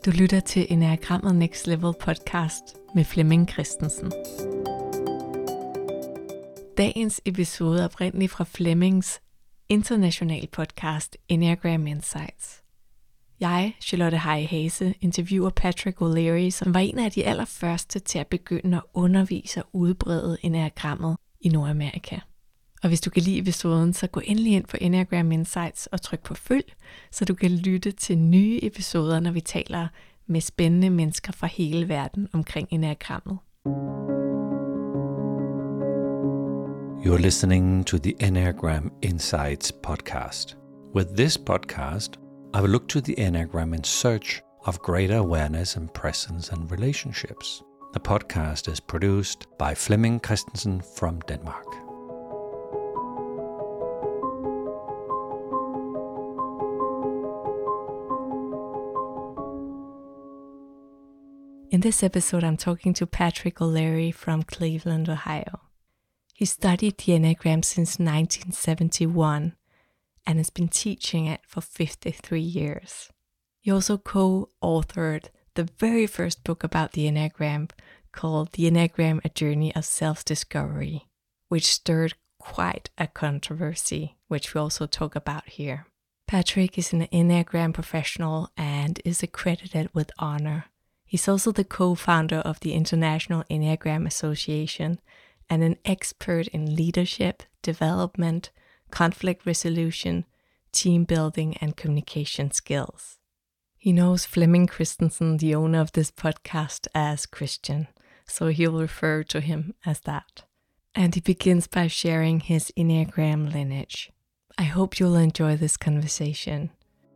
Du lytter til Enneagrammet Next Level podcast med Flemming Christensen. Dagens episode er oprindeligt fra Flemmings internationale podcast Enneagram Insights. Jeg, Charlotte Heie Hase, interviewer Patrick O'Leary, som var en af de allerførste til at begynde at undervise og udbrede Enneagrammet i Nordamerika. Og hvis du kan lide episoden, så gå endelig ind på Enneagram Insights og tryk på følg, så du kan lytte til nye episoder, når vi taler med spændende mennesker fra hele verden omkring Enneagrammet. You're listening to the Enneagram Insights podcast. With this podcast, I will look to the Enneagram in search of greater awareness and presence and relationships. The podcast is produced by Flemming Christensen from Denmark. In this episode, I'm talking to Patrick O'Leary from Cleveland, Ohio. He studied the Enneagram since 1971 and has been teaching it for 53 years. He also co-authored the very first book about the Enneagram called The Enneagram, A Journey of Self-Discovery, which stirred quite a controversy, which we also talk about here. Patrick is an Enneagram professional and is accredited with honor. He's also the co-founder of the International Enneagram Association and an expert in leadership, development, conflict resolution, team building, and communication skills. He knows Flemming Christensen, the owner of this podcast, as Christian, so he'll refer to him as that. And he begins by sharing his Enneagram lineage. I hope you'll enjoy this conversation.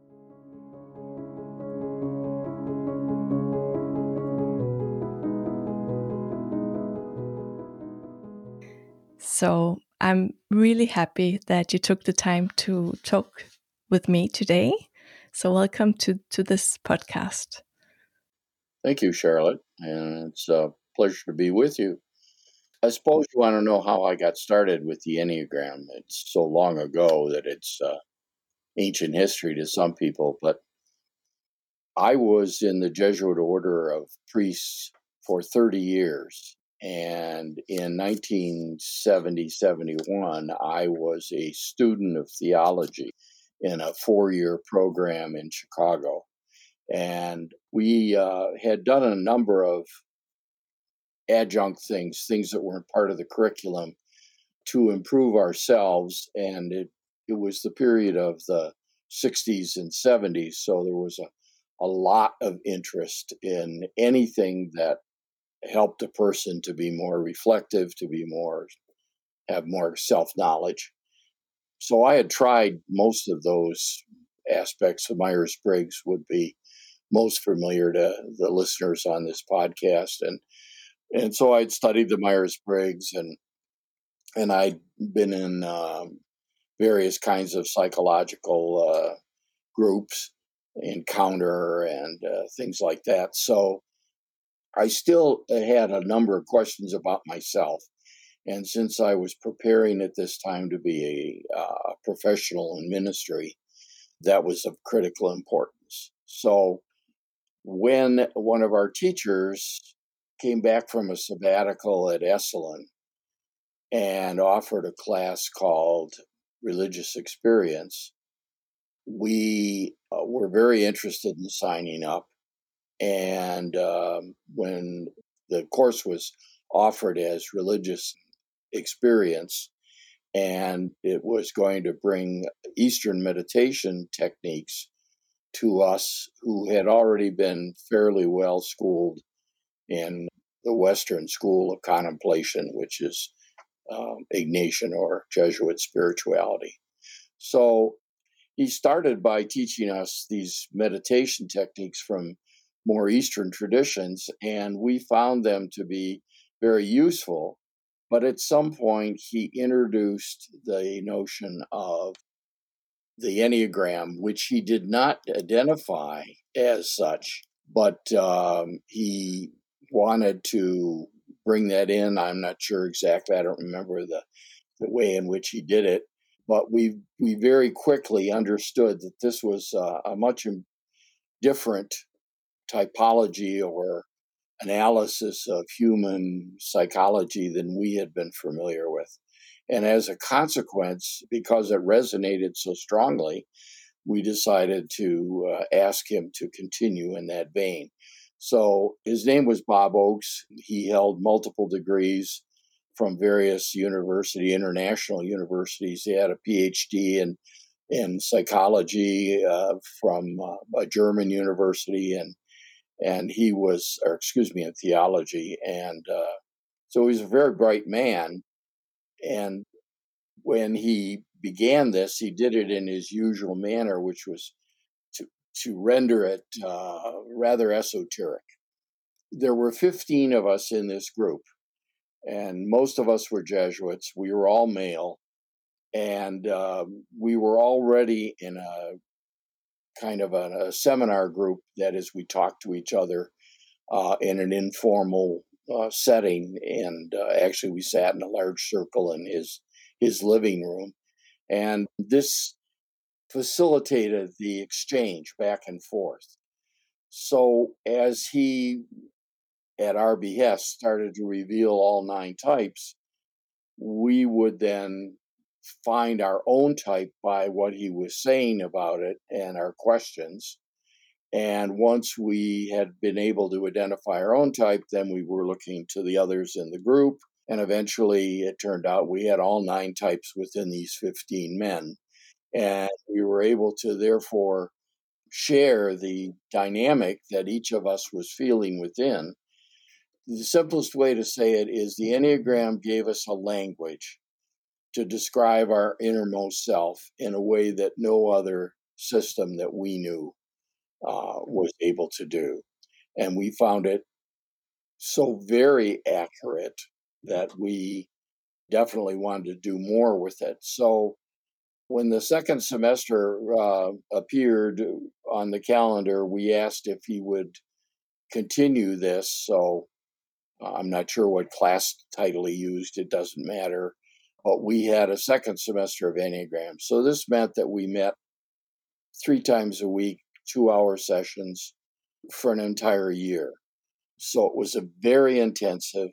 So I'm really happy that you took the time to talk with me today. So welcome to this podcast. Thank you, Charlotte. And it's a pleasure to be with you. I suppose you want to know how I got started with the Enneagram. It's so long ago that it's ancient history to some people. But I was in the Jesuit order of priests for 30 years. And in 1970-71, I was a student of theology in a 4-year program in Chicago. And we had done a number of adjunct things that weren't part of the curriculum to improve ourselves. And it was the period of the 60s and 70s. So there was a lot of interest in anything that helped a person to be more reflective, have more self-knowledge. So I had tried most of those aspects. Myers-Briggs would be most familiar to the listeners on this podcast. And so I'd studied the Myers-Briggs and I'd been in various kinds of psychological groups, Encounter and things like that. So I still had a number of questions about myself. And since I was preparing at this time to be a professional in ministry, that was of critical importance. So when one of our teachers came back from a sabbatical at Esalen and offered a class called Religious Experience, we were very interested in signing up. And when the course was offered as Religious Experience, and it was going to bring Eastern meditation techniques to us who had already been fairly well schooled in the Western school of contemplation, which is Ignatian or Jesuit spirituality. So he started by teaching us these meditation techniques from more Eastern traditions, and we found them to be very useful. But at some point, he introduced the notion of the Enneagram, which he did not identify as such, but he wanted to bring that in. I'm not sure exactly. I don't remember the way in which he did it. But we very quickly understood that this was a much different typology or analysis of human psychology than we had been familiar with. And as a consequence, because it resonated so strongly, we decided to ask him to continue in that vein. So his name was Bob Oakes. He held multiple degrees from various international universities. He had a PhD in psychology from a German university, and he was, in theology. And so he was a very bright man. And when he began this, he did it in his usual manner, which was to render it rather esoteric. There were 15 of us in this group, and most of us were Jesuits. We were all male, and we were already in a kind of a seminar group. That is, we talked to each other in an informal setting, and actually we sat in a large circle in his living room, and this facilitated the exchange back and forth. So as he, at our behest, started to reveal all 9 types, we would then find our own type by what he was saying about it and our questions. And once we had been able to identify our own type, then we were looking to the others in the group. And eventually it turned out we had all 9 types within these 15 men. And we were able to therefore share the dynamic that each of us was feeling within. The simplest way to say it is the Enneagram gave us a language to describe our innermost self in a way that no other system that we knew was able to do. And we found it so very accurate that we definitely wanted to do more with it. So when the second semester appeared on the calendar, we asked if he would continue this. So I'm not sure what class title he used. It doesn't matter. But we had a second semester of Enneagram. So this meant that we met 3 times a week, 2-hour sessions for an entire year. So it was a very intensive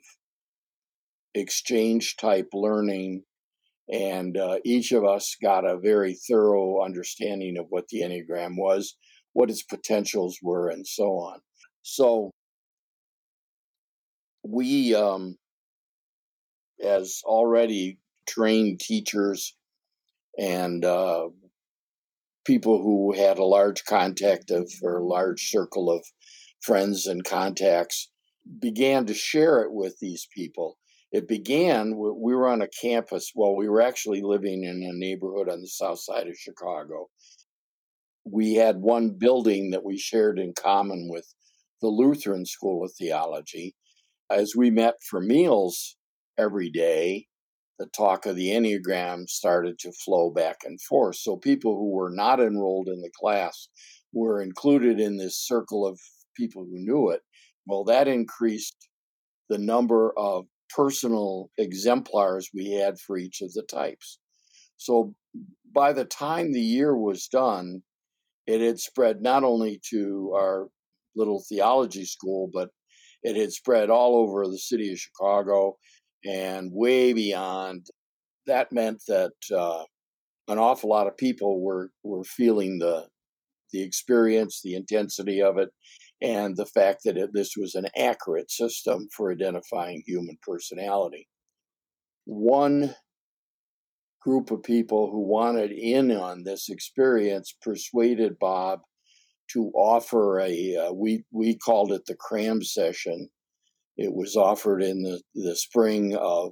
exchange type learning. And each of us got a very thorough understanding of what the Enneagram was, what its potentials were, and so on. So we, as already trained teachers and people who had a large large circle of friends and contacts, began to share it with these people. It began, we were on a campus. Well, we were actually living in a neighborhood on the south side of Chicago. We had one building that we shared in common with the Lutheran School of Theology. As we met for meals every day, the talk of the Enneagram started to flow back and forth. So people who were not enrolled in the class were included in this circle of people who knew it. Well, that increased the number of personal exemplars we had for each of the types. So by the time the year was done, it had spread not only to our little theology school, but it had spread all over the city of Chicago and way beyond. That meant that an awful lot of people were feeling the experience, the intensity of it, and the fact that this was an accurate system for identifying human personality. One group of people who wanted in on this experience persuaded Bob to offer we called it the cram session. It was offered in the spring of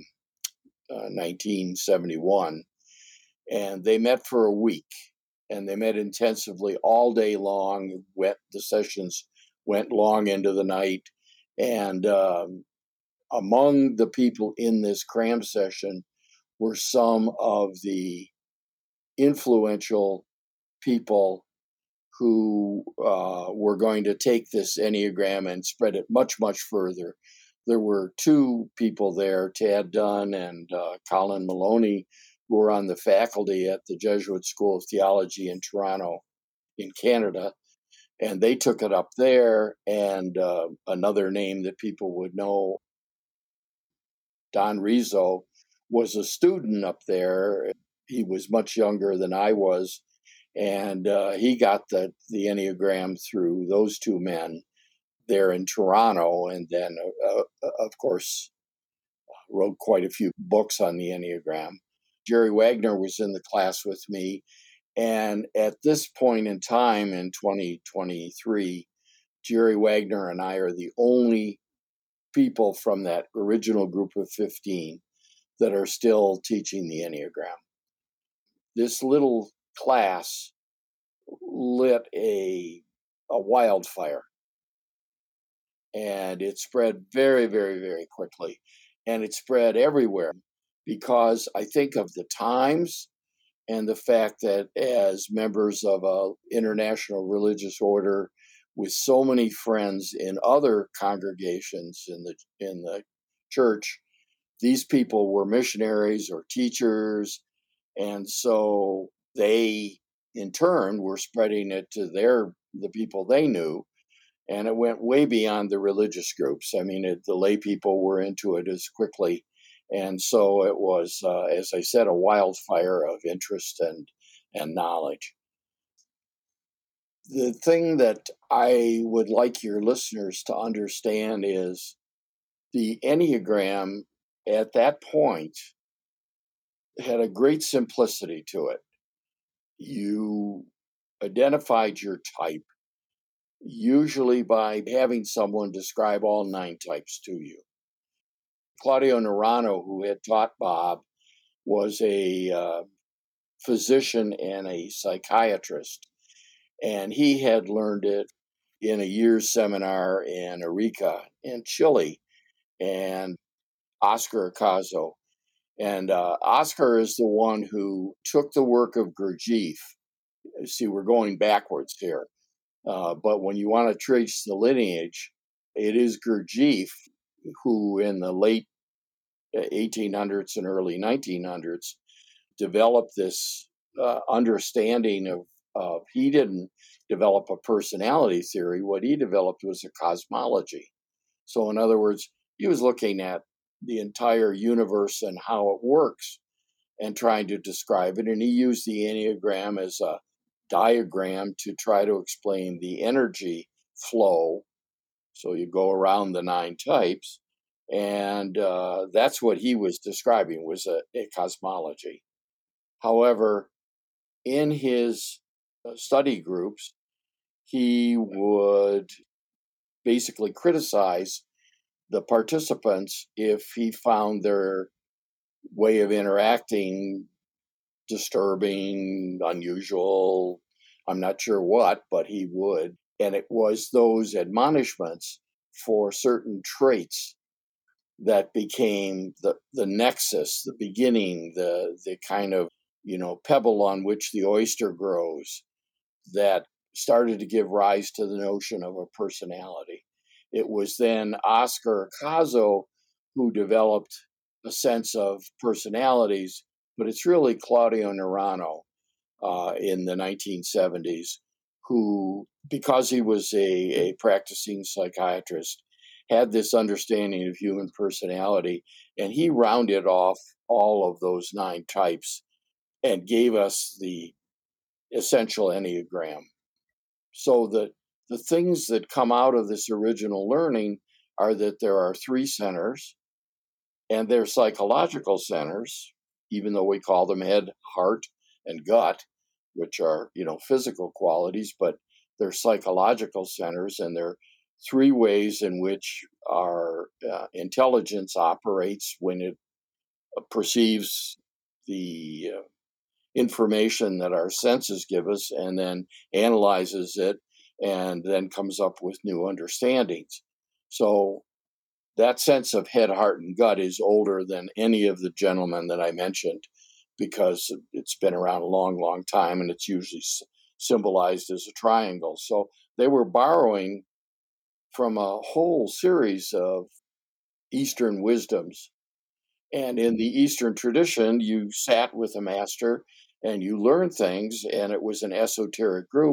1971, and they met for a week. And they met intensively all day long. The sessions went long into the night. And among the people in this cram session were some of the influential people who were going to take this Enneagram and spread it much, much further. There were 2 people there, Tad Dunn and Colin Maloney, who were on the faculty at the Jesuit School of Theology in Toronto, in Canada. And they took it up there. And another name that people would know, Don Rizzo, was a student up there. He was much younger than I was. And he got the Enneagram through those two men there in Toronto. And then, of course, wrote quite a few books on the Enneagram. Jerry Wagner was in the class with me. And at this point in time in 2023, Jerry Wagner and I are the only people from that original group of 15 that are still teaching the Enneagram. This little class lit a wildfire, and it spread very, very, very quickly. And it spread everywhere because I think of the times and the fact that as members of an international religious order with so many friends in other congregations in the church, these people were missionaries or teachers, and so they in turn were spreading it to the people they knew, and it went way beyond the religious groups. I mean, the lay people were into it as quickly. And so it was, as I said, a wildfire of interest and knowledge. The thing that I would like your listeners to understand is the Enneagram at that point had a great simplicity to it. You identified your type, usually by having someone describe all 9 types to you. Claudio Nerano, who had taught Bob, was a physician and a psychiatrist, and he had learned it in a year's seminar in Arica in Chile, and Oscar Acaso. And Oscar is the one who took the work of Gurdjieff. See, we're going backwards here. But when you want to trace the lineage, it is Gurdjieff who, in the late 1800s and early 1900s, developed this understanding of he didn't develop a personality theory. What he developed was a cosmology. So, in other words, he was looking at the entire universe and how it works and trying to describe it. And he used the Enneagram as a diagram to try to explain the energy flow. So you go around the 9 types, and that's what he was describing, was a cosmology. However, in his study groups, he would basically criticize the participants if he found their way of interacting disturbing, unusual, I'm not sure what, but he would. And it was those admonishments for certain traits that became the nexus, the beginning, the kind of, pebble on which the oyster grows, that started to give rise to the notion of a personality. It was then Oscar Acaso who developed a sense of personalities, but it's really Claudio Nerano in the 1970s who, because he was a practicing psychiatrist, had this understanding of human personality, and he rounded off all of those 9 types and gave us the essential Enneagram. So the things that come out of this original learning are that there are 3 centers, and they're psychological centers, even though we call them head, heart, and gut, which are, physical qualities, but they're psychological centers, and they're 3 ways in which our intelligence operates when it perceives the information that our senses give us and then analyzes it and then comes up with new understandings. So that sense of head, heart, and gut is older than any of the gentlemen that I mentioned because it's been around a long, long time, and it's usually symbolized as a triangle. So they were borrowing from a whole series of Eastern wisdoms. And in the Eastern tradition, you sat with a master and you learned things, and it was an esoteric group.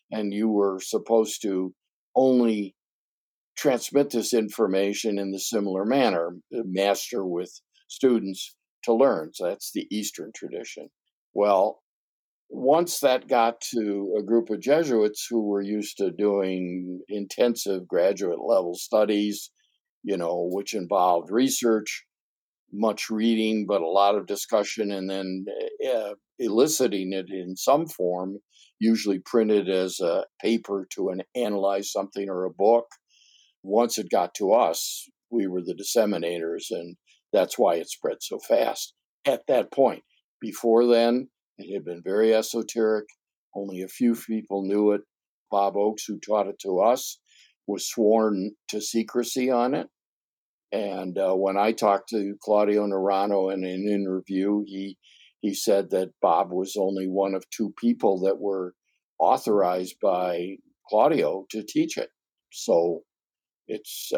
and you were supposed to only transmit this information in the similar manner, master with students to learn. So that's the Eastern tradition. Well, once that got to a group of Jesuits who were used to doing intensive graduate level studies, which involved research, much reading, but a lot of discussion, and then eliciting it in some form, usually printed as a paper to analyze something or a book. Once it got to us, we were the disseminators, and that's why it spread so fast at that point. Before then, it had been very esoteric. Only a few people knew it. Bob Oakes, who taught it to us, was sworn to secrecy on it. And when I talked to Claudio Nerano in an interview, he said that Bob was only one of two people that were authorized by Claudio to teach it. So it's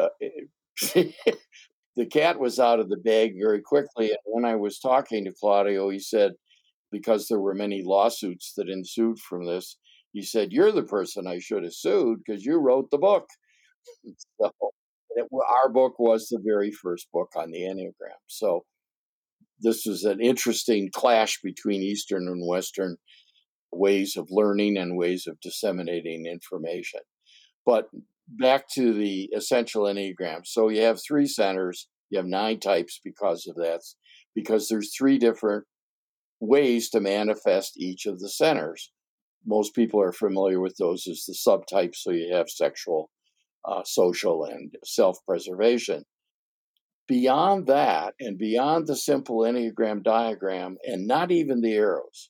the cat was out of the bag very quickly. And when I was talking to Claudio, he said, because there were many lawsuits that ensued from this, he said, "You're the person I should have sued because you wrote the book." So our book was the very first book on the Enneagram. So this was an interesting clash between Eastern and Western ways of learning and ways of disseminating information. But back to the essential Enneagram. So you have 3 centers, you have 9 types because of that, because there's 3 different ways to manifest each of the centers. Most people are familiar with those as the subtypes. So you have sexual, social, and self-preservation. Beyond that, and beyond the simple Enneagram diagram, and not even the arrows,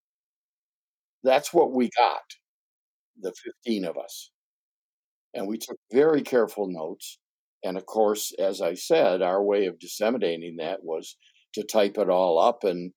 that's what we got, the 15 of us. And we took very careful notes. And of course, as I said, our way of disseminating that was to type it all up and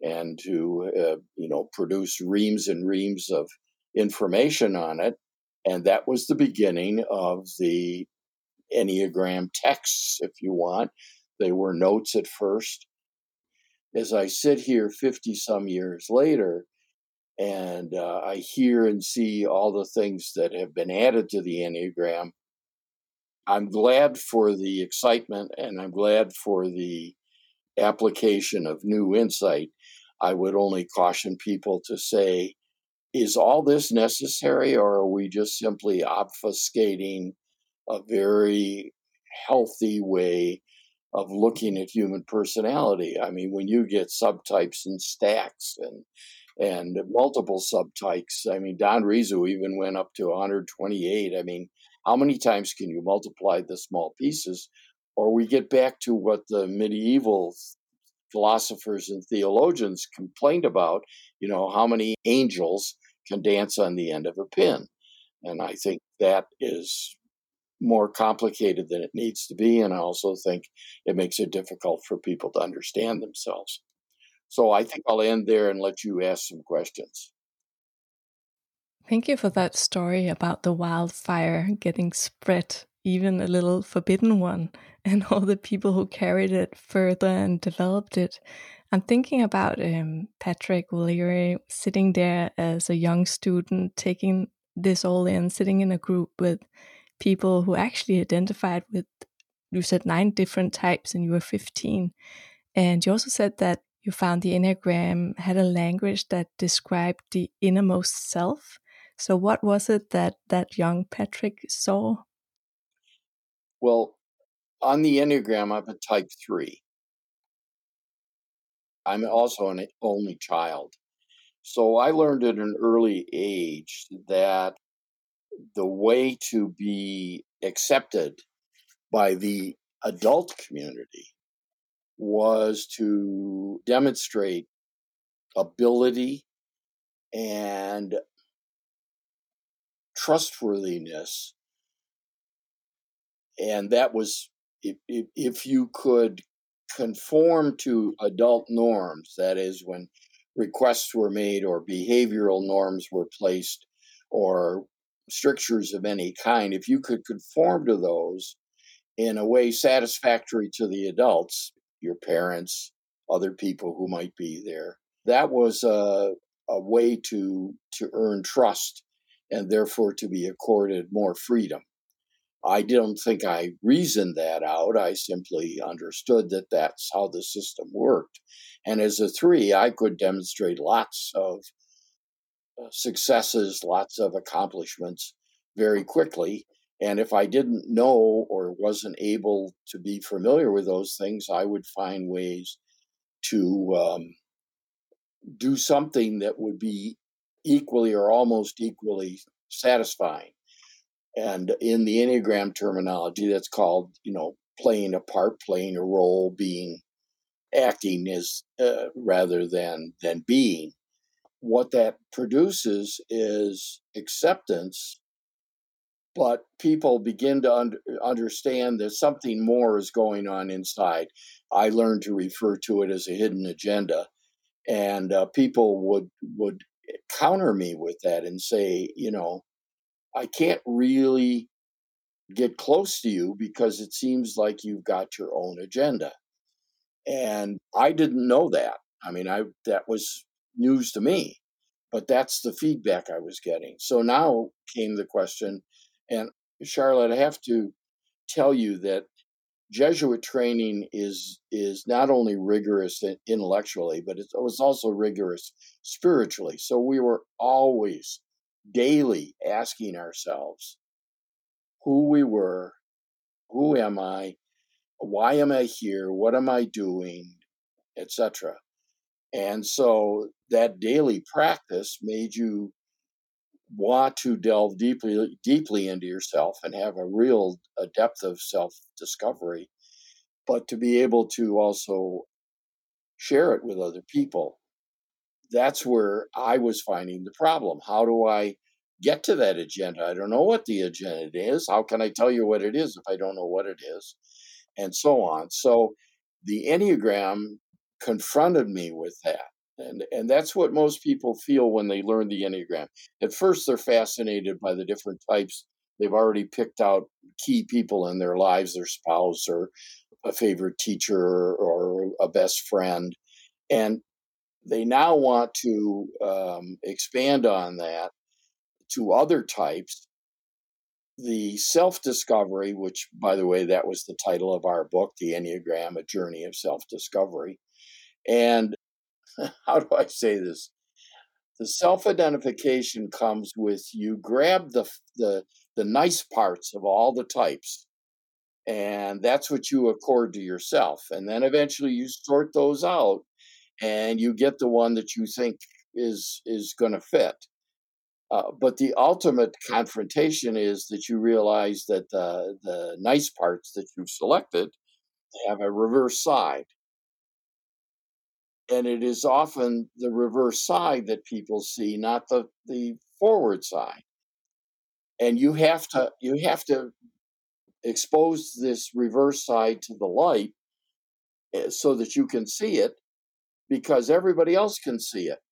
to produce reams and reams of information on it. And that was the beginning of the Enneagram texts, if you want. They were notes at first. As I sit here 50 some years later, and I hear and see all the things that have been added to the Enneagram, I'm glad for the excitement and I'm glad for the application of new insight. I would only caution people to say, is all this necessary, or are we just simply obfuscating a very healthy way of looking at human personality? I mean, when you get subtypes and stacks and multiple subtypes, I mean, Don Rizzo even went up to 128. I mean, how many times can you multiply the small pieces? Or we get back to what the medieval philosophers and theologians complained about, how many angels can dance on the end of a pin. And I think that is more complicated than it needs to be. And I also think it makes it difficult for people to understand themselves. So I think I'll end there and let you ask some questions. Thank you for that story about the wildfire getting spread, even a little forbidden one, and all the people who carried it further and developed it. I'm thinking about Patrick O'Leary sitting there as a young student, taking this all in, sitting in a group with people who actually identified with, you said 9 different types and you were 15. And you also said that you found the Enneagram had a language that described the innermost self. So what was it that young Patrick saw? Well, on the Enneagram, I'm a type 3. I'm also an only child. So I learned at an early age that the way to be accepted by the adult community was to demonstrate ability and trustworthiness. And that was, if you could conform to adult norms, that is, when requests were made or behavioral norms were placed or strictures of any kind, if you could conform to those in a way satisfactory to the adults, your parents, other people who might be there, that was a way to earn trust and therefore to be accorded more freedom. I don't think I reasoned that out. I simply understood that that's how the system worked. And as a 3, I could demonstrate lots of successes, lots of accomplishments very quickly. And if I didn't know or wasn't able to be familiar with those things, I would find ways to do something that would be equally or almost equally satisfying. And in the Enneagram terminology, that's called, playing a part, playing a role, acting as rather than being. What that produces is acceptance, but people begin to understand that something more is going on inside. I learned to refer to it as a hidden agenda, and people would counter me with that and say, I can't really get close to you because it seems like you've got your own agenda. And I didn't know that. I mean, that was news to me, but that's the feedback I was getting. So now came the question, and Charlotte, I have to tell you that Jesuit training is not only rigorous intellectually, but it was also rigorous spiritually. So we were always daily asking ourselves who we were, who am I, why am I here, what am I doing, etc. And so that daily practice made you want to delve deeply into yourself and have a depth of self-discovery, but to be able to also share it with other people. That's where I was finding the problem. How do I get to that agenda? I don't know what the agenda is. How can I tell you what it is if I don't know what it is? And so on. So the Enneagram confronted me with that. And that's what most people feel when they learn the Enneagram. At first, they're fascinated by the different types. They've already picked out key people in their lives, their spouse or a favorite teacher or a best friend. And they now want to expand on that to other types. The self-discovery, which, by the way, that was the title of our book, The Enneagram, A Journey of Self-Discovery. And how do I say this? The self-identification comes with you grab the nice parts of all the types, and that's what you accord to yourself. And then eventually you sort those out, and you get the one that you think is going to fit. But the ultimate confrontation is that you realize that the nice parts that you've selected have a reverse side. And it is often the reverse side that people see, not the forward side. And you have to expose this reverse side to the light so that you can see it, because everybody else can see it.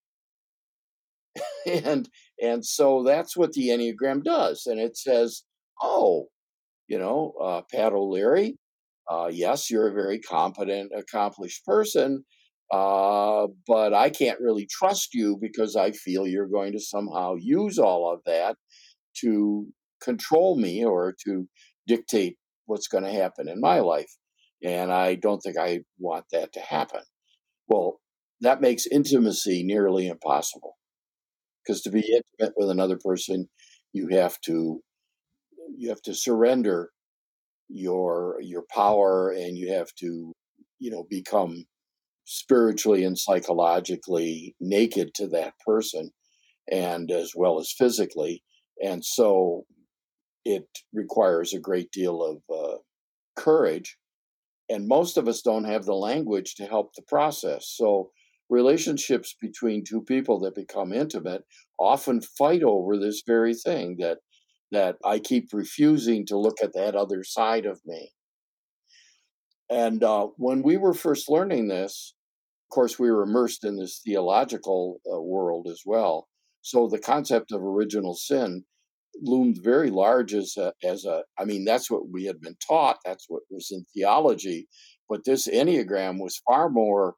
and so that's what the Enneagram does. And it says, oh, Pat O'Leary, yes, you're a very competent, accomplished person, but I can't really trust you because I feel you're going to somehow use all of that to control me or to dictate what's going to happen in my life. And I don't think I want that to happen. Well, that makes intimacy nearly impossible, because to be intimate with another person, you have to surrender your power, and you have to become spiritually and psychologically naked to that person, and as well as physically. And so it requires a great deal of courage, and most of us don't have the language to help the process. So relationships between two people that become intimate often fight over this very thing, that I keep refusing to look at that other side of me. And when we were first learning this, of course, we were immersed in this theological world as well. So the concept of original sin loomed very large I mean, that's what we had been taught. That's what was in theology. But this Enneagram was far more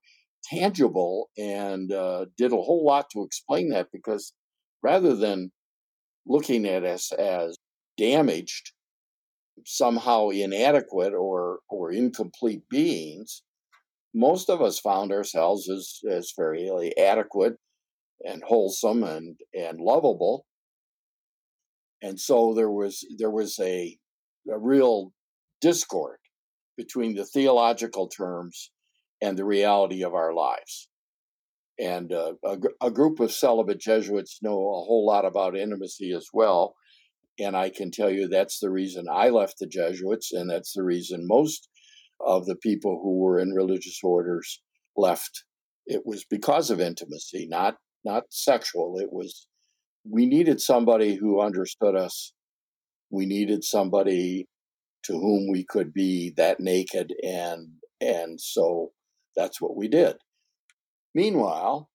tangible and did a whole lot to explain that, because rather than looking at us as damaged, somehow inadequate or incomplete beings, most of us found ourselves as fairly adequate and wholesome and lovable. And so there was a real discord between the theological terms and the reality of our lives. And a group of celibate Jesuits know a whole lot about intimacy as well. And I can tell you that's the reason I left the Jesuits, and that's the reason most of the people who were in religious orders left. It was because of intimacy, not sexual. It was we needed somebody who understood us. We needed somebody to whom we could be that naked, and so that's what we did. Meanwhile,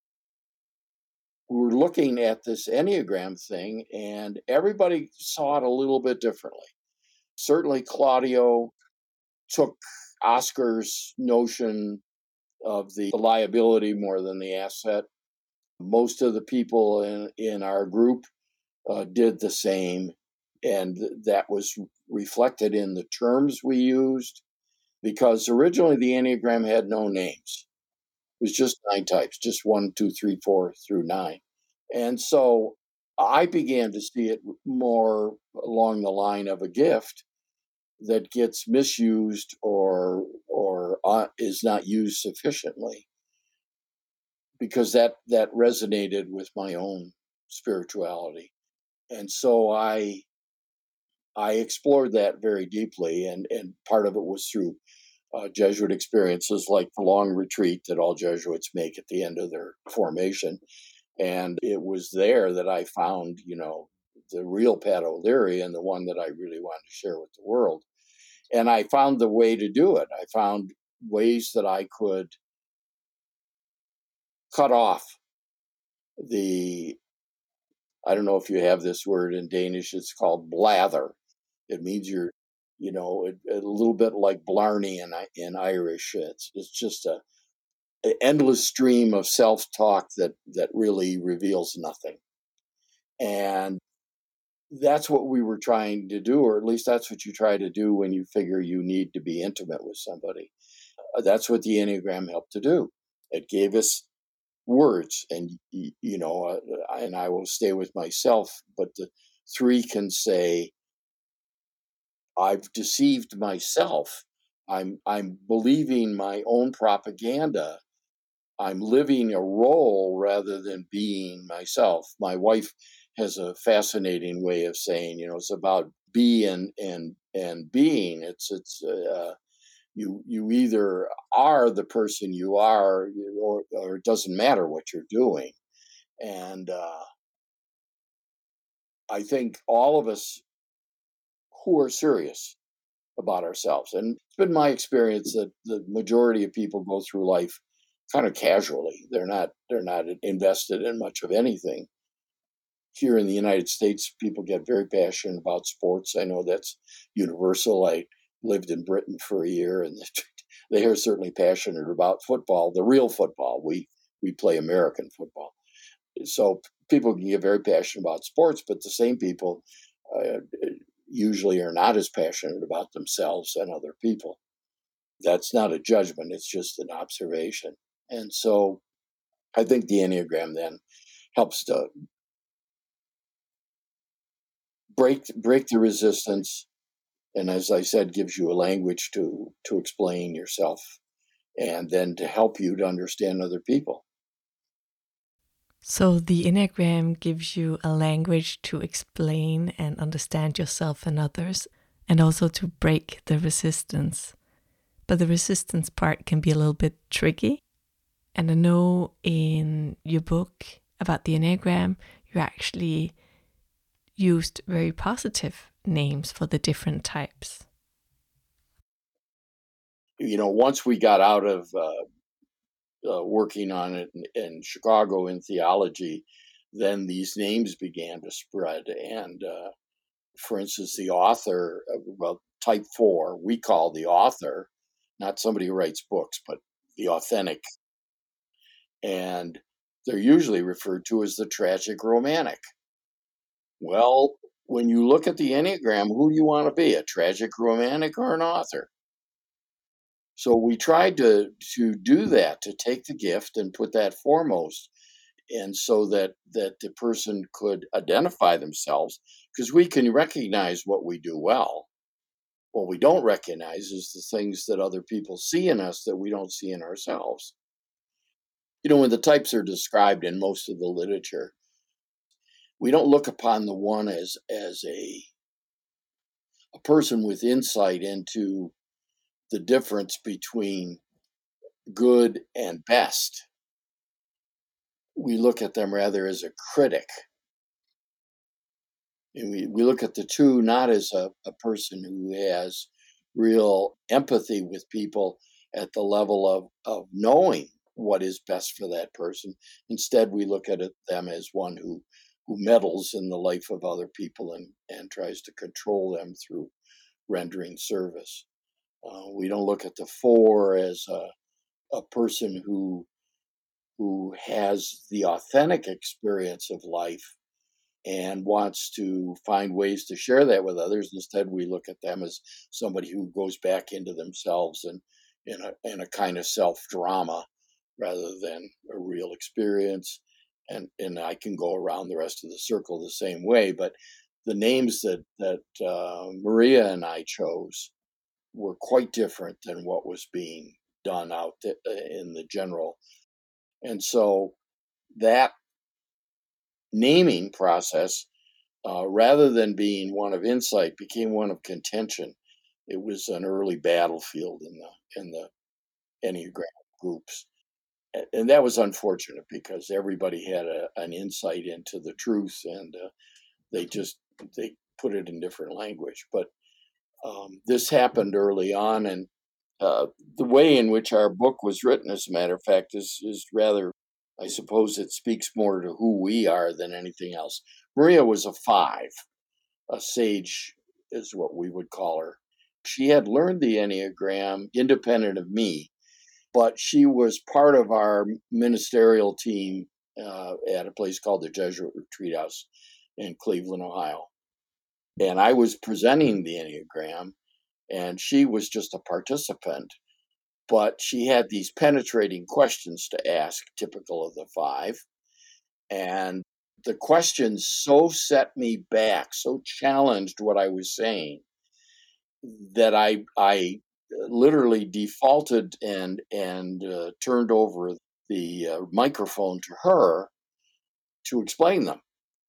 we were looking at this Enneagram thing, and everybody saw it a little bit differently. Certainly, Claudio took Oscar's notion of the liability more than the asset. Most of the people in our group did the same, and that was reflected in the terms we used, because originally the Enneagram had no names. It was just 9 types, just 1, 2, 3, 4 through 9. And so I began to see it more along the line of a gift that gets misused or is not used sufficiently, because that resonated with my own spirituality. And so I explored that very deeply, and part of it was through Jesuit experiences like the long retreat that all Jesuits make at the end of their formation. And it was there that I found, the real Pat O'Leary, and the one that I really wanted to share with the world. And I found the way to do it. I found ways that I could cut off I don't know if you have this word in Danish, it's called blather. It means you're, a little bit like blarney in Irish. It's just an endless stream of self-talk that really reveals nothing. And that's what we were trying to do, or at least that's what you try to do when you figure you need to be intimate with somebody. That's what the Enneagram helped to do. It gave us words, and and I will stay with myself, but the 3 can say, I've deceived myself. I'm believing my own propaganda. I'm living a role rather than being myself. My wife has a fascinating way of saying, it's about be and being. It's you either are the person you are, or it doesn't matter what you're doing. And I think all of us who are serious about ourselves, and it's been my experience that the majority of people go through life kind of casually. They're not invested in much of anything. Here in the United States, people get very passionate about sports. I know that's universal. I lived in Britain for a year, and they are certainly passionate about football, the real football. We play American football. So people can get very passionate about sports, but the same people usually are not as passionate about themselves and other people. That's not a judgment, it's just an observation. And so I think the Enneagram then helps to break the resistance, and as I said, gives you a language to explain yourself, and then to help you to understand other people. So the Enneagram gives you a language to explain and understand yourself and others, and also to break the resistance. But the resistance part can be a little bit tricky. And I know in your book about the Enneagram, you actually used very positive names for the different types. Once we got out of working on it in Chicago in theology, then these names began to spread. And for instance, the author, type 4, we call the author, not somebody who writes books, but the authentic. And they're usually referred to as the tragic romantic. Well, when you look at the Enneagram, who do you want to be, a tragic romantic or an author? So we tried to do that, to take the gift and put that foremost, and so that the person could identify themselves, because we can recognize what we do well. What we don't recognize is the things that other people see in us that we don't see in ourselves. When the types are described in most of the literature, we don't look upon the one as a person with insight into the difference between good and best. We look at them rather as a critic. And we look at the two not as a person who has real empathy with people at the level of knowing what is best for that person. Instead, we look at them as one who meddles in the life of other people and tries to control them through rendering service. We don't look at the four as a person who has the authentic experience of life and wants to find ways to share that with others. Instead, we look at them as somebody who goes back into themselves and in a kind of self drama rather than a real experience. And I can go around the rest of the circle the same way. But the names that Maria and I chose were quite different than what was being done out in the general. And so that naming process, rather than being one of insight, became one of contention. It was an early battlefield in the Enneagram groups, and that was unfortunate because everybody had an insight into the truth, and they put it in different language. But this happened early on, and the way in which our book was written, as a matter of fact, is rather, I suppose it speaks more to who we are than anything else. Maria was a 5, a sage is what we would call her. She had learned the Enneagram independent of me, but she was part of our ministerial team at a place called the Jesuit Retreat House in Cleveland, Ohio. And I was presenting the Enneagram, and she was just a participant. But she had these penetrating questions to ask, typical of the 5. And the questions so set me back, so challenged what I was saying, that I literally defaulted and turned over the microphone to her to explain them.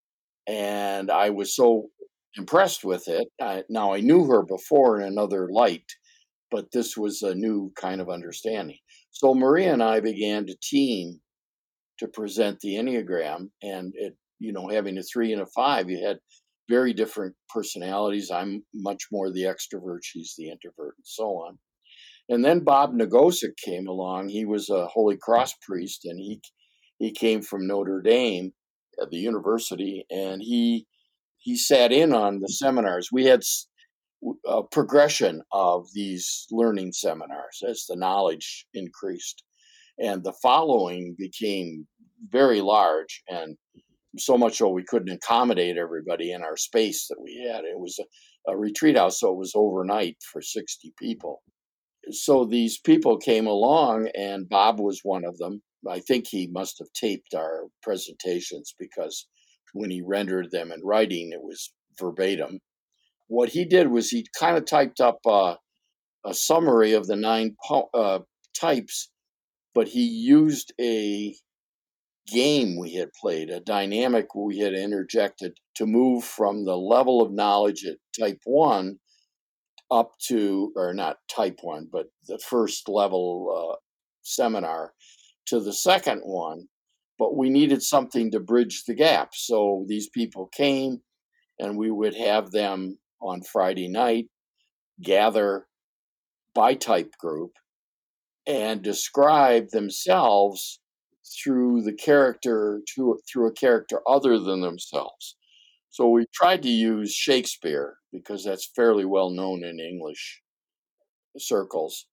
And I was so impressed with it. Now, I knew her before in another light, but this was a new kind of understanding. So Maria and I began to team to present the Enneagram, and having a 3 and a 5, you had very different personalities. I'm much more the extrovert, she's the introvert, and so on. And then Bob Nagosic came along. He was a Holy Cross priest, and he came from Notre Dame at the university, and he sat in on the seminars. We had a progression of these learning seminars as the knowledge increased, and the following became very large, and so much so we couldn't accommodate everybody in our space that we had. It was a retreat house, so it was overnight for 60 people. So these people came along, and Bob was one of them. I think he must have taped our presentations, because when he rendered them in writing, it was verbatim. What he did was he kind of typed up a summary of the 9 types, but he used a game we had played, a dynamic we had interjected to move from the level of knowledge at type 1 up to, or not type 1, but the first level seminar to the second one. But we needed something to bridge the gap. So these people came, and we would have them on Friday night gather by type group and describe themselves through the character, through a character other than themselves. So we tried to use Shakespeare because that's fairly well known in English circles.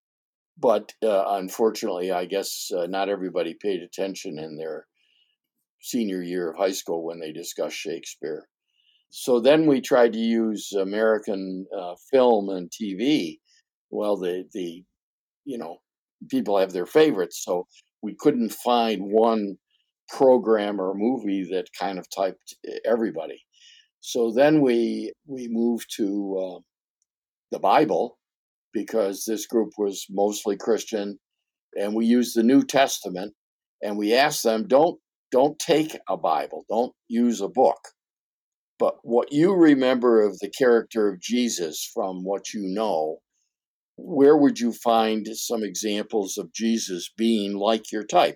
But unfortunately, I guess not everybody paid attention in their senior year of high school when they discussed Shakespeare. So then we tried to use American film and TV. Well, the people have their favorites, so we couldn't find one program or movie that kind of typed everybody. So then we moved to the Bible, because this group was mostly Christian, and we used the New Testament, and we asked them, don't take a Bible, don't use a book, but what you remember of the character of Jesus from what you know, where would you find some examples of Jesus being like your type?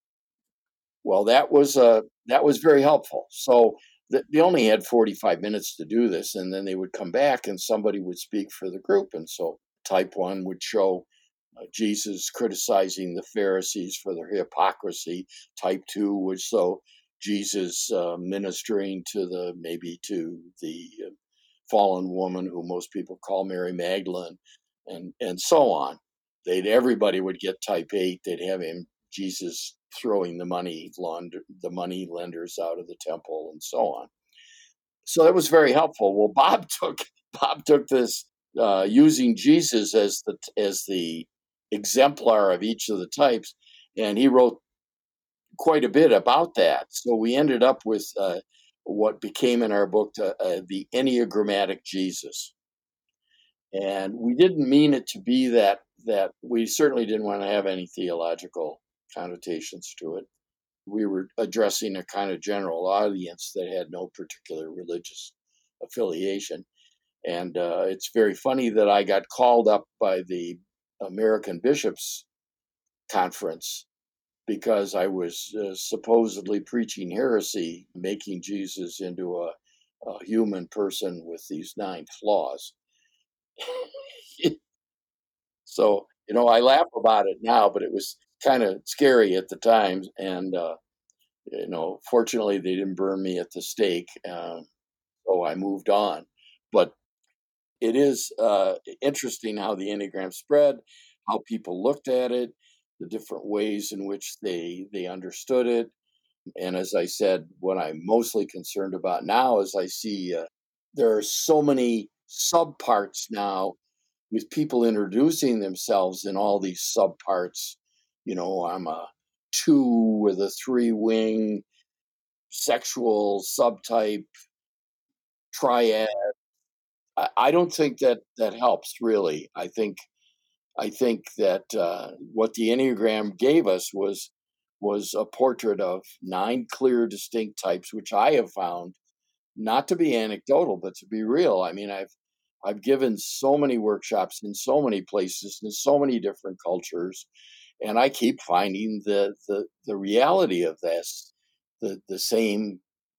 Well, that was very helpful. So they only had 45 minutes to do this, and then they would come back and somebody would speak for the group. And so type 1 would show Jesus criticizing the Pharisees for their hypocrisy. Type 2 would show Jesus ministering to the fallen woman who most people call Mary Magdalene, and so on. Everybody would get type 8. They'd have Jesus throwing the money lenders out of the temple, and so on. So that was very helpful. Well, Bob took this using Jesus as the exemplar of each of the types, and he wrote quite a bit about that. So we ended up with what became in our book the Enneagrammatic Jesus. And we didn't mean it to be that we certainly didn't want to have any theological connotations to it. We were addressing a kind of general audience that had no particular religious affiliation. And it's very funny that I got called up by the American Bishops Conference because I was supposedly preaching heresy, making Jesus into a human person with these 9 flaws. So, I laugh about it now, but it was kind of scary at the time. And, fortunately, they didn't burn me at the stake. So I moved on. But it is interesting how the Enneagram spread, how people looked at it, the different ways in which they understood it. And as I said, what I'm mostly concerned about now is I see there are so many subparts now, with people introducing themselves in all these subparts. I'm a 2 with a 3-wing, sexual subtype, triad. I don't think that helps really. I think that what the Enneagram gave us was a portrait of 9 clear, distinct types, which I have found not to be anecdotal, but to be real. I mean, I've given so many workshops in so many places in so many different cultures, and I keep finding the reality of this, the same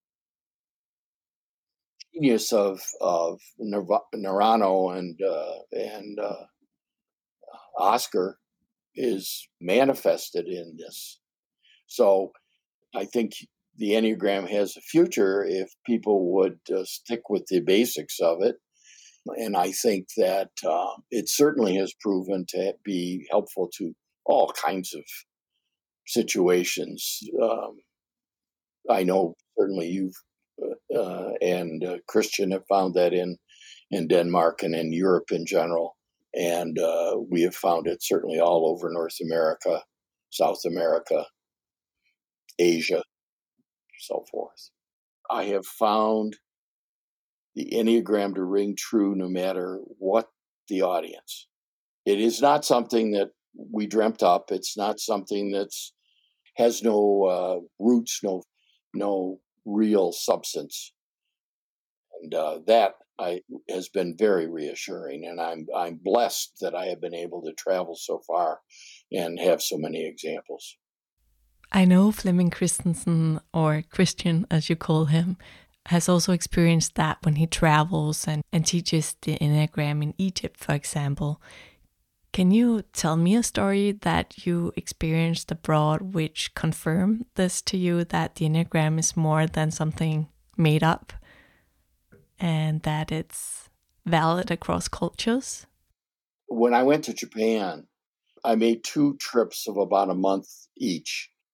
genius of Narano and Oscar is manifested in this. So I think the Enneagram has a future if people would stick with the basics of it. And I think that it certainly has proven to be helpful to all kinds of situations. I know certainly you've and Christian have found that in Denmark and in Europe in general. And we have found it certainly all over North America, South America, Asia, so forth. I have found the Enneagram to ring true no matter what the audience. It is not something that we dreamt up. It's not something that's has no roots, no real substance, and that has been very reassuring. And I'm blessed that I have been able to travel so far and have so many examples. I know Flemming Christensen, or Christian as you call him, has also experienced that when he travels and teaches the Enneagram in Egypt, for example. Can you tell me a story that you experienced abroad which confirmed this to you, that the Enneagram is more than something made up and that it's valid across cultures? When I went to Japan, I made 2 trips of about a month each.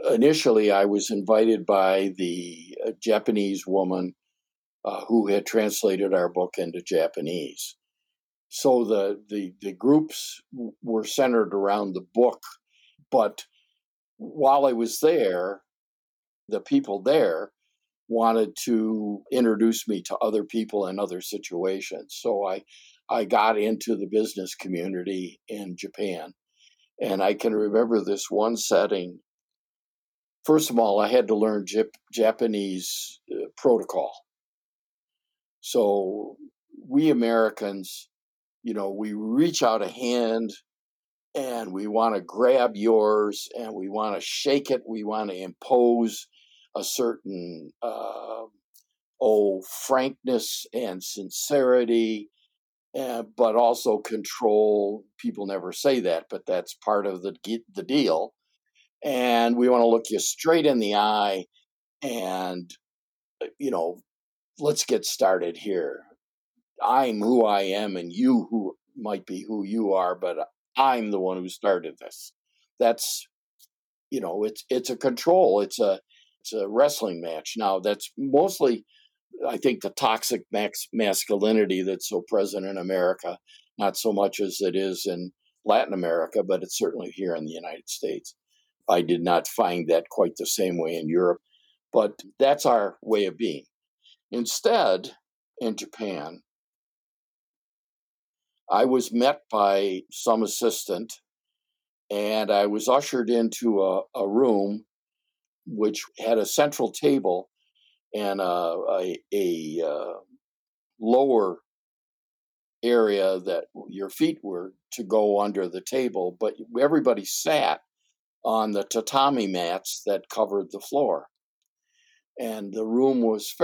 initially I was invited by the Japanese woman who had translated our book into Japanese. So the groups were centered around the book, but while I was there, the people there wanted to introduce me to other people in other situations. So I got into the business community in Japan. And I can remember this one setting. First of all, I had to learn Japanese protocol. So we Americans, we reach out a hand and we want to grab yours and we want to shake it. We want to impose a certain frankness and sincerity, but also control. People never say that, but that's part of the deal. And we want to look you straight in the eye and, let's get started here. I'm who I am and you who might be who you are, but I'm the one who started this. That's, it's a control. It's a wrestling match. Now that's mostly, I think, the toxic masculinity that's so present in America, not so much as it is in Latin America, but it's certainly here in the United States. I did not find that quite the same way in Europe, but that's our way of being. Instead, in Japan, I was met by some assistant and I was ushered into a room which had a central table and a lower area that your feet were to go under the table, but everybody sat on the tatami mats that covered the floor. And the room was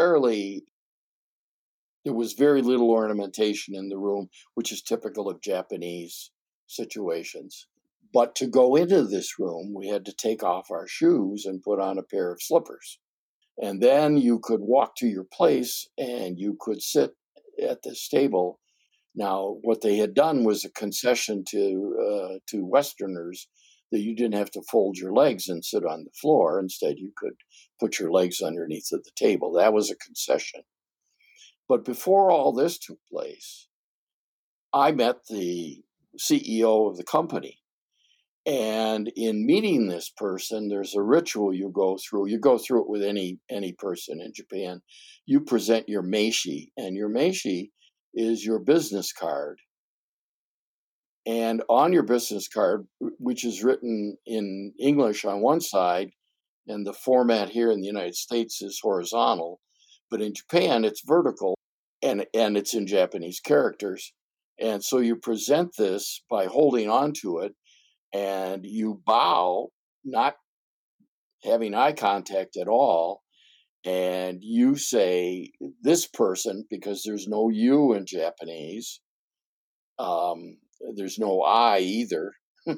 there was very little ornamentation in the room, which is typical of Japanese situations. But to go into this room, we had to take off our shoes and put on a pair of slippers. And then you could walk to your place and you could sit at this table. Now, what they had done was a concession to Westerners that you didn't have to fold your legs and sit on the floor. Instead, you could put your legs underneath of the table. That was a concession. But before all this took place, I met the CEO of the company. And in meeting this person, there's a ritual you go through. You go through it with any person in Japan. You present your meishi, and your meishi is your business card. And on your business card, which is written in English on one side, and the format here in the United States is horizontal, but in Japan it's vertical, and it's in Japanese characters. And so you present this by holding on to it, and you bow, not having eye contact at all, and you say, this person, because there's no you in Japanese, there's no I either.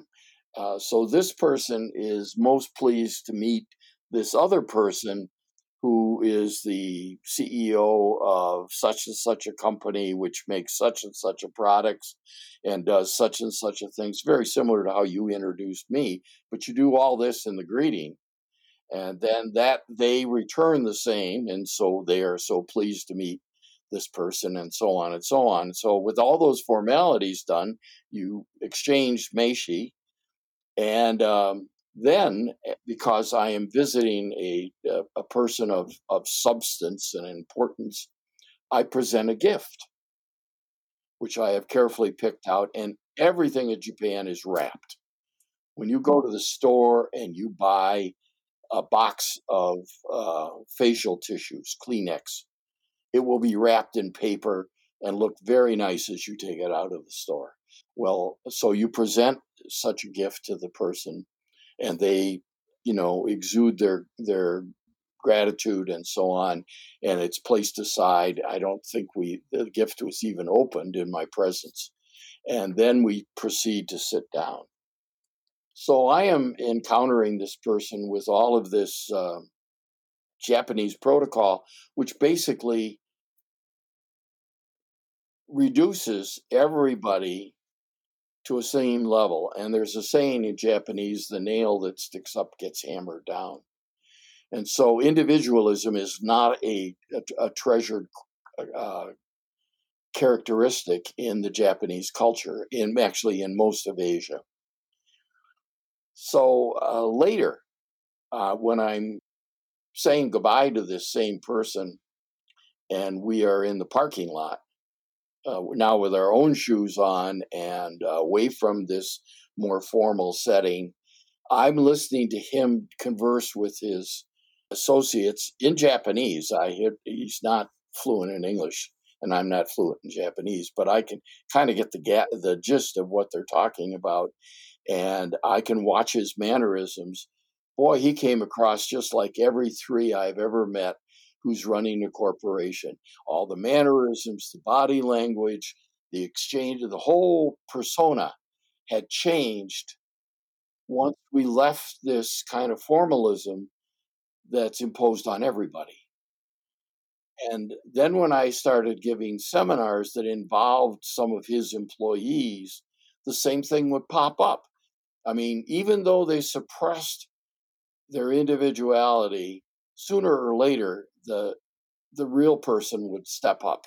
So this person is most pleased to meet this other person who is the CEO of such and such a company, which makes such and such a products and does such and such a things, very similar to how you introduced me. But you do all this in the greeting. And then that they return the same. And so they are so pleased to meet this person and so on and so on. So with all those formalities done, you exchange meishi. And then, because I am visiting a person of substance and importance, I present a gift, which I have carefully picked out, and everything in Japan is wrapped. When you go to the store and you buy a box of facial tissues, Kleenex, it will be wrapped in paper and look very nice as you take it out of the store. Well, so you present such a gift to the person, and they, exude their gratitude and so on, and it's placed aside. I don't think the gift was even opened in my presence, and then we proceed to sit down. So I am encountering this person with all of this Japanese protocol, which basically reduces everybody to a same level. And there's a saying in Japanese, the nail that sticks up gets hammered down. And so individualism is not a treasured characteristic in the Japanese culture, actually in most of Asia. So later, when I'm saying goodbye to this same person, and we are in the parking lot, now with our own shoes on and away from this more formal setting, I'm listening to him converse with his associates in Japanese. He's not fluent in English, and I'm not fluent in Japanese, but I can kind of get the gist of what they're talking about, and I can watch his mannerisms. Boy, he came across just like every three I've ever met who's running a corporation. All the mannerisms, the body language, the exchange, the whole persona had changed once we left this kind of formalism that's imposed on everybody. And then when I started giving seminars that involved some of his employees, the same thing would pop up. I mean, even though they suppressed their individuality, sooner or later, the real person would step up.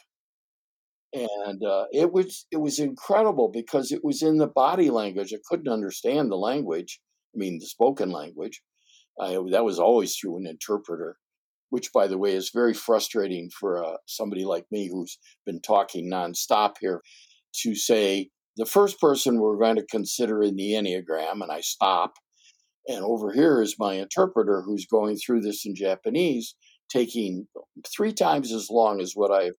And it was incredible because it was in the body language. I couldn't understand the language. I mean, the spoken language. That was always through an interpreter, which, by the way, is very frustrating for somebody like me who's been talking nonstop here to say the first person we're going to consider in the Enneagram, and I stop. And over here is my interpreter who's going through this in Japanese, taking 3 times as long as what I've.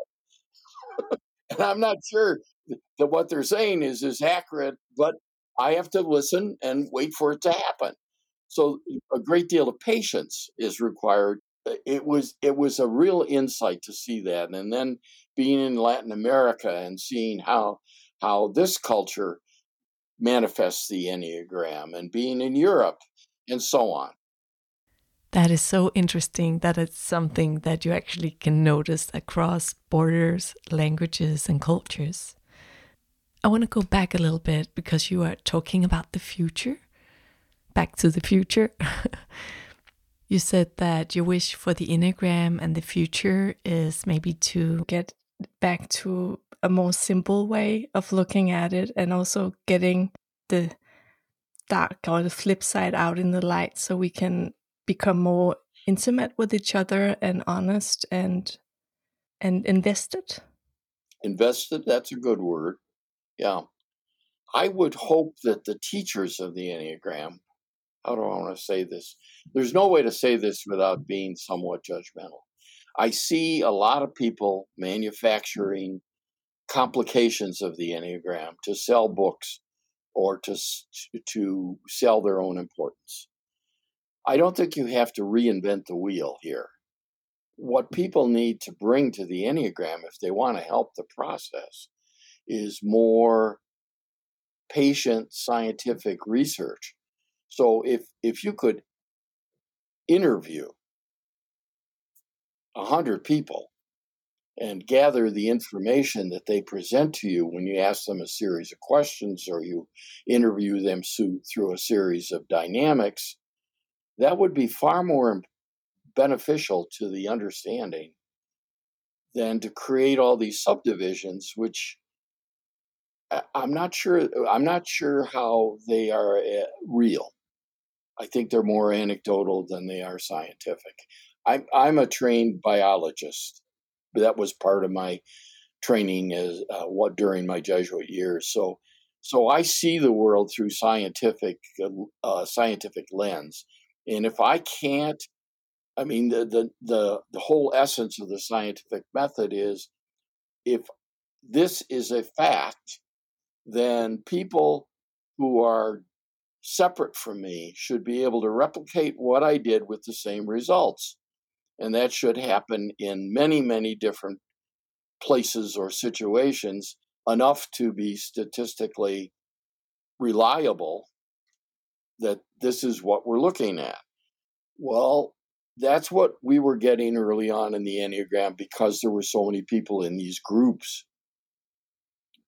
And I'm not sure that what they're saying is accurate, but I have to listen and wait for it to happen. So a great deal of patience is required. It was a real insight to see that, and then being in Latin America and seeing how this culture manifests the Enneagram, and being in Europe, and so on. That is so interesting that it's something that you actually can notice across borders, languages, and cultures. I want to go back a little bit because you are talking about the future. Back to the future. You said that your wish for the Enneagram and the future is maybe to get back to a more simple way of looking at it, and also getting the dark or the flip side out in the light so we can become more intimate with each other and honest and invested. Invested, that's a good word. Yeah. I would hope that the teachers of the Enneagram, how do I want to say this? There's no way to say this without being somewhat judgmental. I see a lot of people manufacturing complications of the Enneagram to sell books or to sell their own importance. I don't think you have to reinvent the wheel here. What people need to bring to the Enneagram, if they want to help the process, is more patient scientific research. So if you could interview 100 people and gather the information that they present to you when you ask them a series of questions or you interview them through a series of dynamics, that would be far more beneficial to the understanding than to create all these subdivisions, which I'm not sure how they are real. I think they're more anecdotal than they are scientific. I'm a trained biologist. That was part of my training as during my Jesuit years. So I see the world through scientific lens, and if I can't, I mean, the whole essence of the scientific method is, if this is a fact, then people who are separate from me should be able to replicate what I did with the same results. And that should happen in many, many different places or situations, enough to be statistically reliable that this is what we're looking at. Well, that's what we were getting early on in the Enneagram because there were so many people in these groups.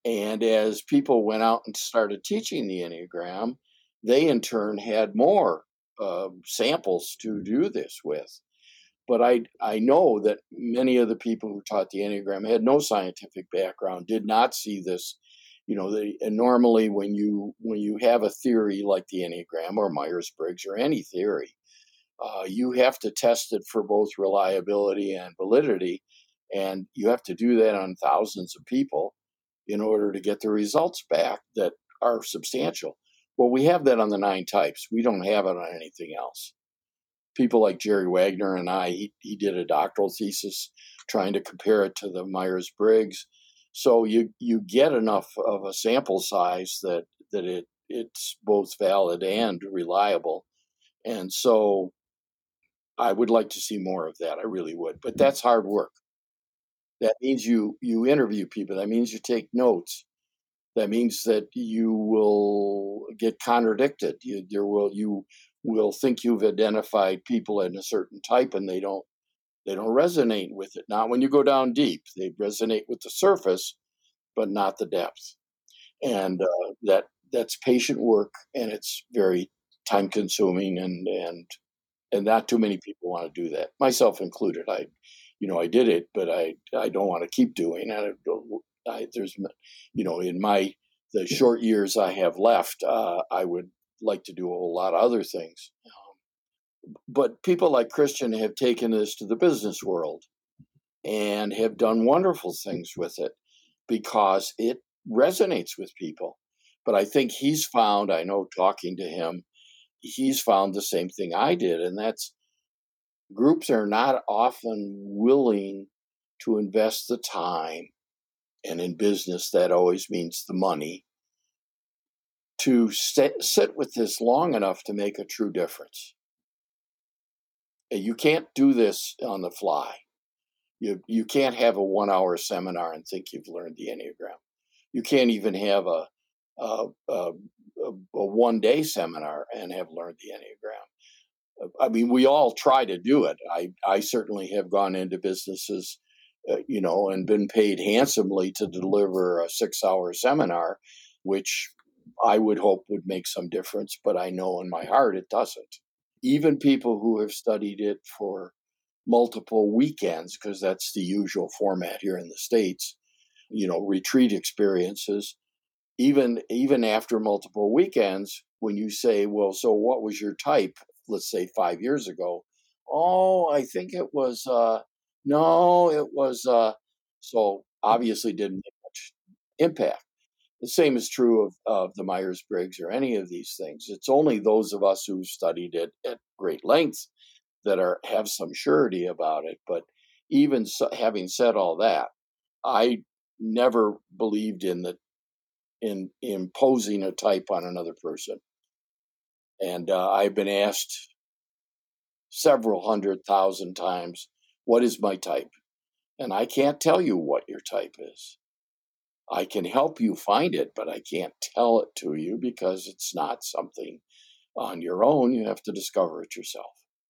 And as people went out and started teaching the Enneagram, they in turn had more samples to do this with. But I know that many of the people who taught the Enneagram had no scientific background, did not see this. And normally when you have a theory like the Enneagram or Myers-Briggs or any theory, you have to test it for both reliability and validity, and you have to do that on thousands of people in order to get the results back that are substantial. Well, we have that on the 9 types. We don't have it on anything else. People like Jerry Wagner and he did a doctoral thesis trying to compare it to the Myers-Briggs. So you get enough of a sample size that it's both valid and reliable. And so I would like to see more of that. I really would. But that's hard work. That means you interview people. That means you take notes. That means that you will get contradicted. You will think you've identified people in a certain type, and they don't resonate with it. Not when you go down deep. They resonate with the surface, but not the depth. And that's patient work, and it's very time consuming, and not too many people want to do that, myself included. I did it, but I don't want to keep doing it. There's, in the short years I have left, I would like to do a whole lot of other things. But people like Christian have taken this to the business world and have done wonderful things with it because it resonates with people. But I think he's found, I know talking to him, he's found the same thing I did, and that's groups are not often willing to invest the time, and in business that always means the money, to sit with this long enough to make a true difference. And you can't do this on the fly. You can't have a 1-hour seminar and think you've learned the Enneagram. You can't even have a 1-day seminar and have learned the Enneagram. I mean, we all try to do it. I certainly have gone into businesses, and been paid handsomely to deliver a 6-hour seminar, which I would hope would make some difference, but I know in my heart it doesn't. Even people who have studied it for multiple weekends, because that's the usual format here in the States, retreat experiences, even after multiple weekends, when you say, well, so what was your type, let's say 5 years ago? Oh, I think it was, no, it was, so obviously didn't make much impact. The same is true of the Myers-Briggs or any of these things. It's only those of us who've studied it at great length that have some surety about it. But even having said all that, I never believed in imposing a type on another person. And I've been asked several 100,000 times, what is my type? And I can't tell you what your type is. I can help you find it, but I can't tell it to you because it's not something on your own. You have to discover it yourself.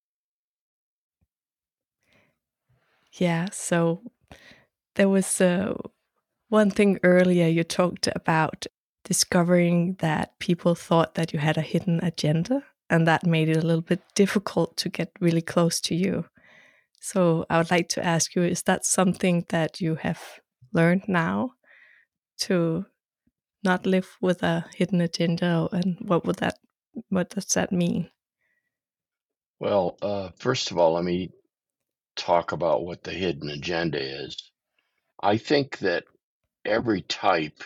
Yeah, so there was one thing earlier you talked about discovering that people thought that you had a hidden agenda, and that made it a little bit difficult to get really close to you. So I would like to ask you, is that something that you have learned now, to not live with a hidden agenda, and what does that mean? Well, first of all, let me talk about what the hidden agenda is. I think that every type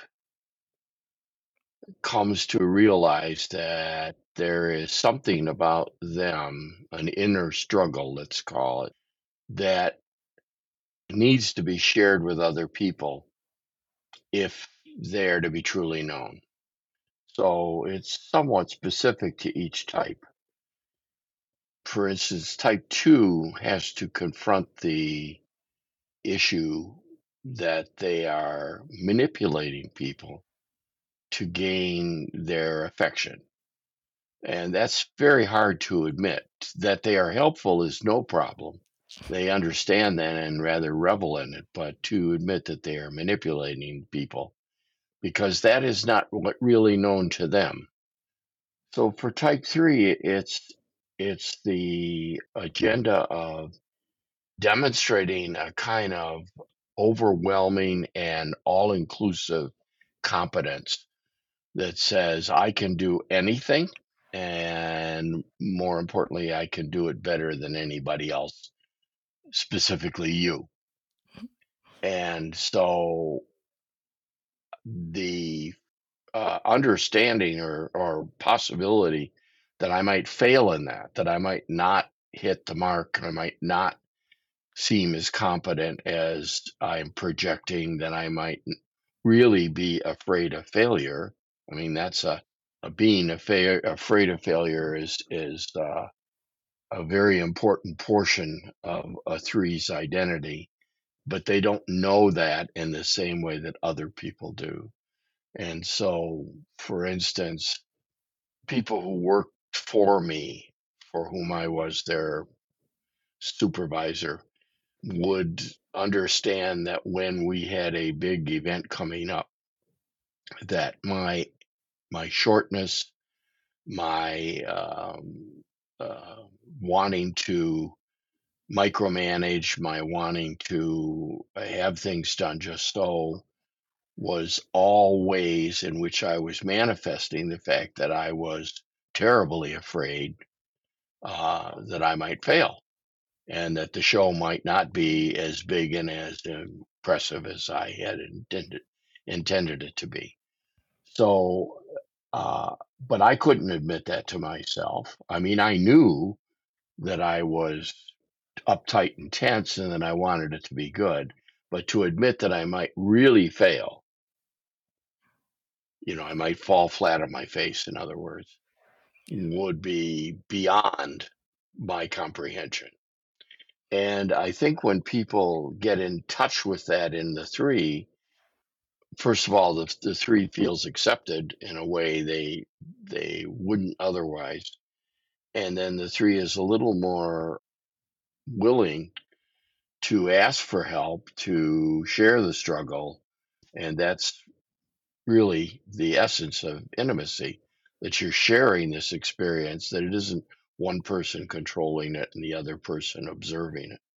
comes to realize that there is something about them, an inner struggle, let's call it, that needs to be shared with other people if they're to be truly known. So it's somewhat specific to each type. For instance, type 2 has to confront the issue that they are manipulating people to gain their affection. And that's very hard to admit. That they are helpful is no problem. They understand that and rather revel in it. But to admit that they are manipulating people, because that is not what really known to them. So for type 3, it's the agenda of demonstrating a kind of overwhelming and all-inclusive competence that says I can do anything, and more importantly, I can do it better than anybody else, specifically you. And so the understanding or possibility that I might fail in that I might not hit the mark, I might not seem as competent as I'm projecting, that I might really be afraid of failure. I mean, that's a being afraid of failure is a very important portion of a three's identity, but they don't know that in the same way that other people do. And so, for instance, people who worked for me, for whom I was their supervisor, would understand that when we had a big event coming up, that my shortness, my wanting to micromanage, my wanting to have things done just so, was all ways in which I was manifesting the fact that I was terribly afraid that I might fail, and that the show might not be as big and as impressive as I had intended it to be. So, but I couldn't admit that to myself. I mean, I knew that I was uptight and tense and that I wanted it to be good, but to admit that I might really fail, I might fall flat on my face, in other words, would be beyond my comprehension. And I think when people get in touch with that in the three, first of all, the three feels accepted in a way they wouldn't otherwise. And then the three is a little more willing to ask for help, to share the struggle. And that's really the essence of intimacy, that you're sharing this experience, that it isn't one person controlling it and the other person observing it.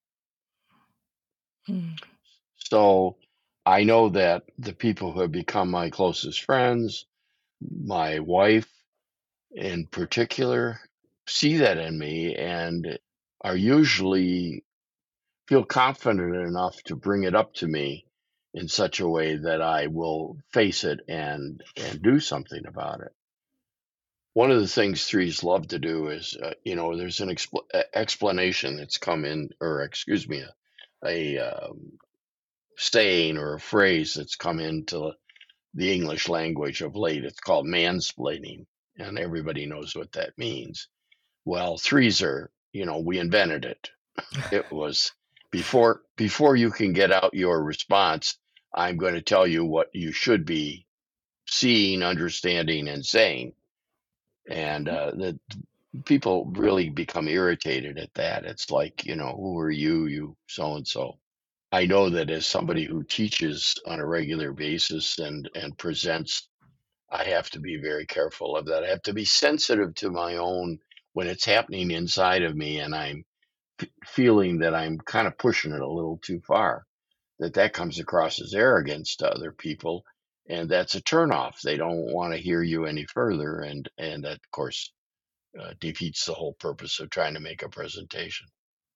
Mm. So I know that the people who have become my closest friends, my wife in particular, see that in me and are usually feel confident enough to bring it up to me in such a way that I will face it and do something about it. One of the things threes love to do is, there's an explanation that's come in, or excuse me, a saying or a phrase that's come into the English language of late. It's called mansplaining, and everybody knows what that means. Well, threes are, we invented it. It was before you can get out your response, I'm going to tell you what you should be seeing, understanding, and saying. And the people really become irritated at that. It's like, who are you so and so. I know that as somebody who teaches on a regular basis and presents, I have to be very careful of that. I have to be sensitive to my own, when it's happening inside of me and I'm feeling that I'm kind of pushing it a little too far, that comes across as arrogance to other people, and that's a turnoff. They don't want to hear you any further, and that, of course, defeats the whole purpose of trying to make a presentation.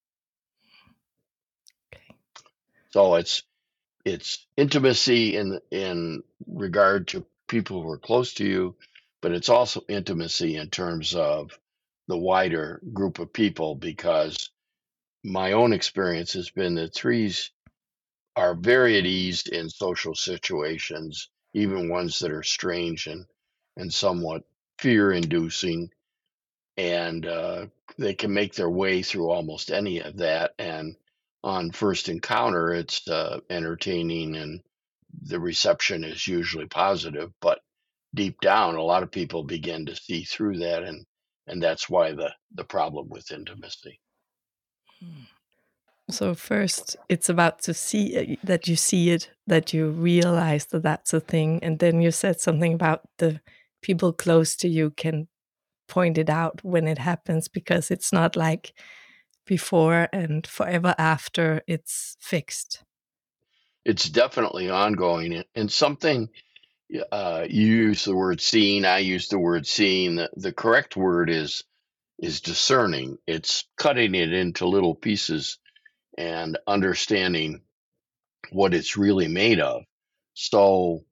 Okay. So it's intimacy in regard to people who are close to you, but it's also intimacy in terms of the wider group of people, because my own experience has been that threes are very at ease in social situations, even ones that are strange and somewhat fear-inducing, and they can make their way through almost any of that. And on first encounter, it's entertaining, and the reception is usually positive. But deep down, a lot of people begin to see through that, and that's why the problem with intimacy. So first, it's about to see that you see it, that you realize that that's a thing. And then you said something about the people close to you can point it out when it happens, because it's not like before and forever after it's fixed. It's definitely ongoing. And something, you use the word seeing, I use the word seeing. The correct word is discerning. It's cutting it into little pieces and understanding what it's really made of. So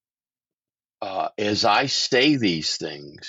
as I say these things,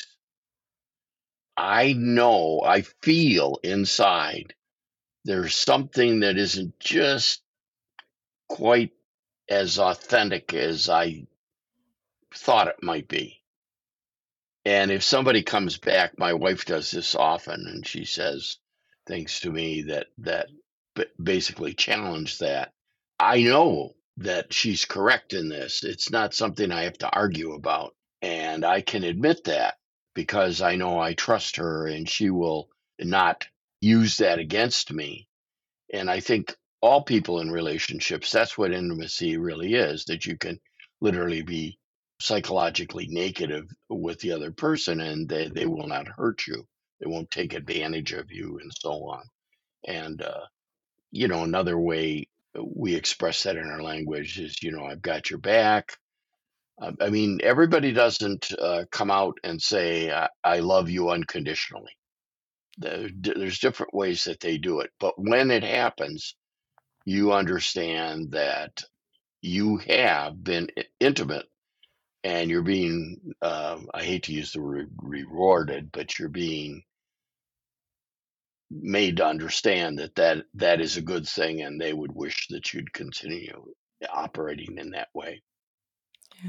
I know, I feel inside there's something that isn't just quite as authentic as I thought it might be. And if somebody comes back, my wife does this often, and she says things to me that basically challenge that. I know that she's correct in this. It's not something I have to argue about. And I can admit that because I know I trust her and she will not use that against me. And I think all people in relationships, that's what intimacy really is, that you can literally be psychologically naked with the other person and they will not hurt you. They won't take advantage of you and so on. And, another way we express that in our language is, I've got your back. I mean, everybody doesn't come out and say, I love you unconditionally. There's different ways that they do it. But when it happens, you understand that you have been intimate and you're being, I hate to use the word rewarded, but you're being made to understand that is a good thing and they would wish that you'd continue operating in that way. Yeah.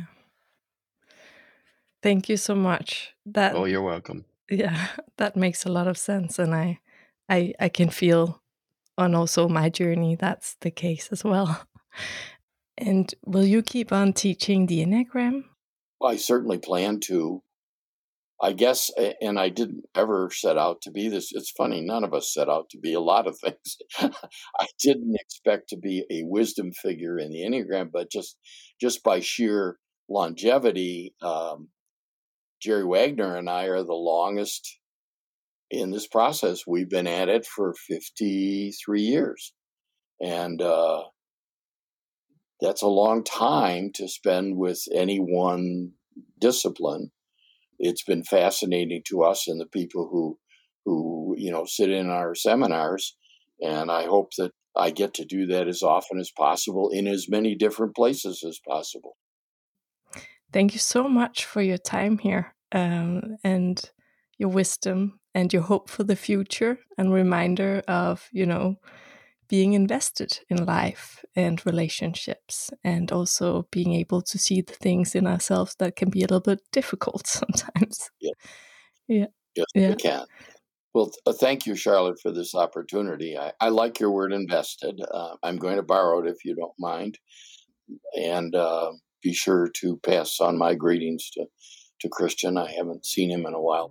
Thank you so much. Oh, you're welcome. Yeah, that makes a lot of sense. And I can feel on also my journey that's the case as well. And will you keep on teaching the Enneagram? Well, I certainly plan to. I guess, and I didn't ever set out to be this. It's funny, none of us set out to be a lot of things. I didn't expect to be a wisdom figure in the Enneagram, but just by sheer longevity, Jerry Wagner and I are the longest in this process. We've been at it for 53 years. And that's a long time to spend with any one discipline. It's been fascinating to us and the people who sit in our seminars, and I hope that I get to do that as often as possible in as many different places as possible. Thank you so much for your time here and your wisdom and your hope for the future and reminder of, being invested in life and relationships, and also being able to see the things in ourselves that can be a little bit difficult sometimes. Yeah. Yes, we can. Well, thank you, Charlotte, for this opportunity. I like your word invested. I'm going to borrow it if you don't mind. And be sure to pass on my greetings to Christian. I haven't seen him in a while.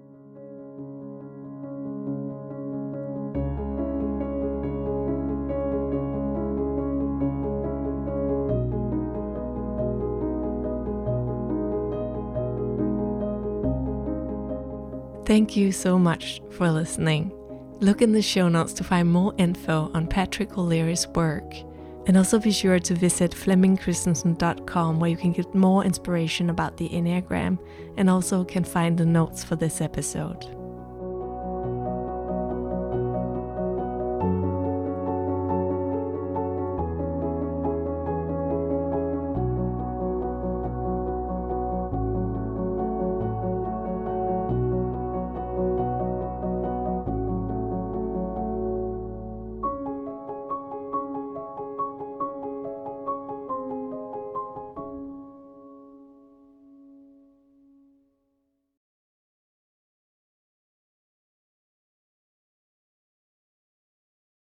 Thank you so much for listening. Look in the show notes to find more info on Patrick O'Leary's work. And also be sure to visit FlemingChristensen.com, where you can get more inspiration about the Enneagram and also can find the notes for this episode.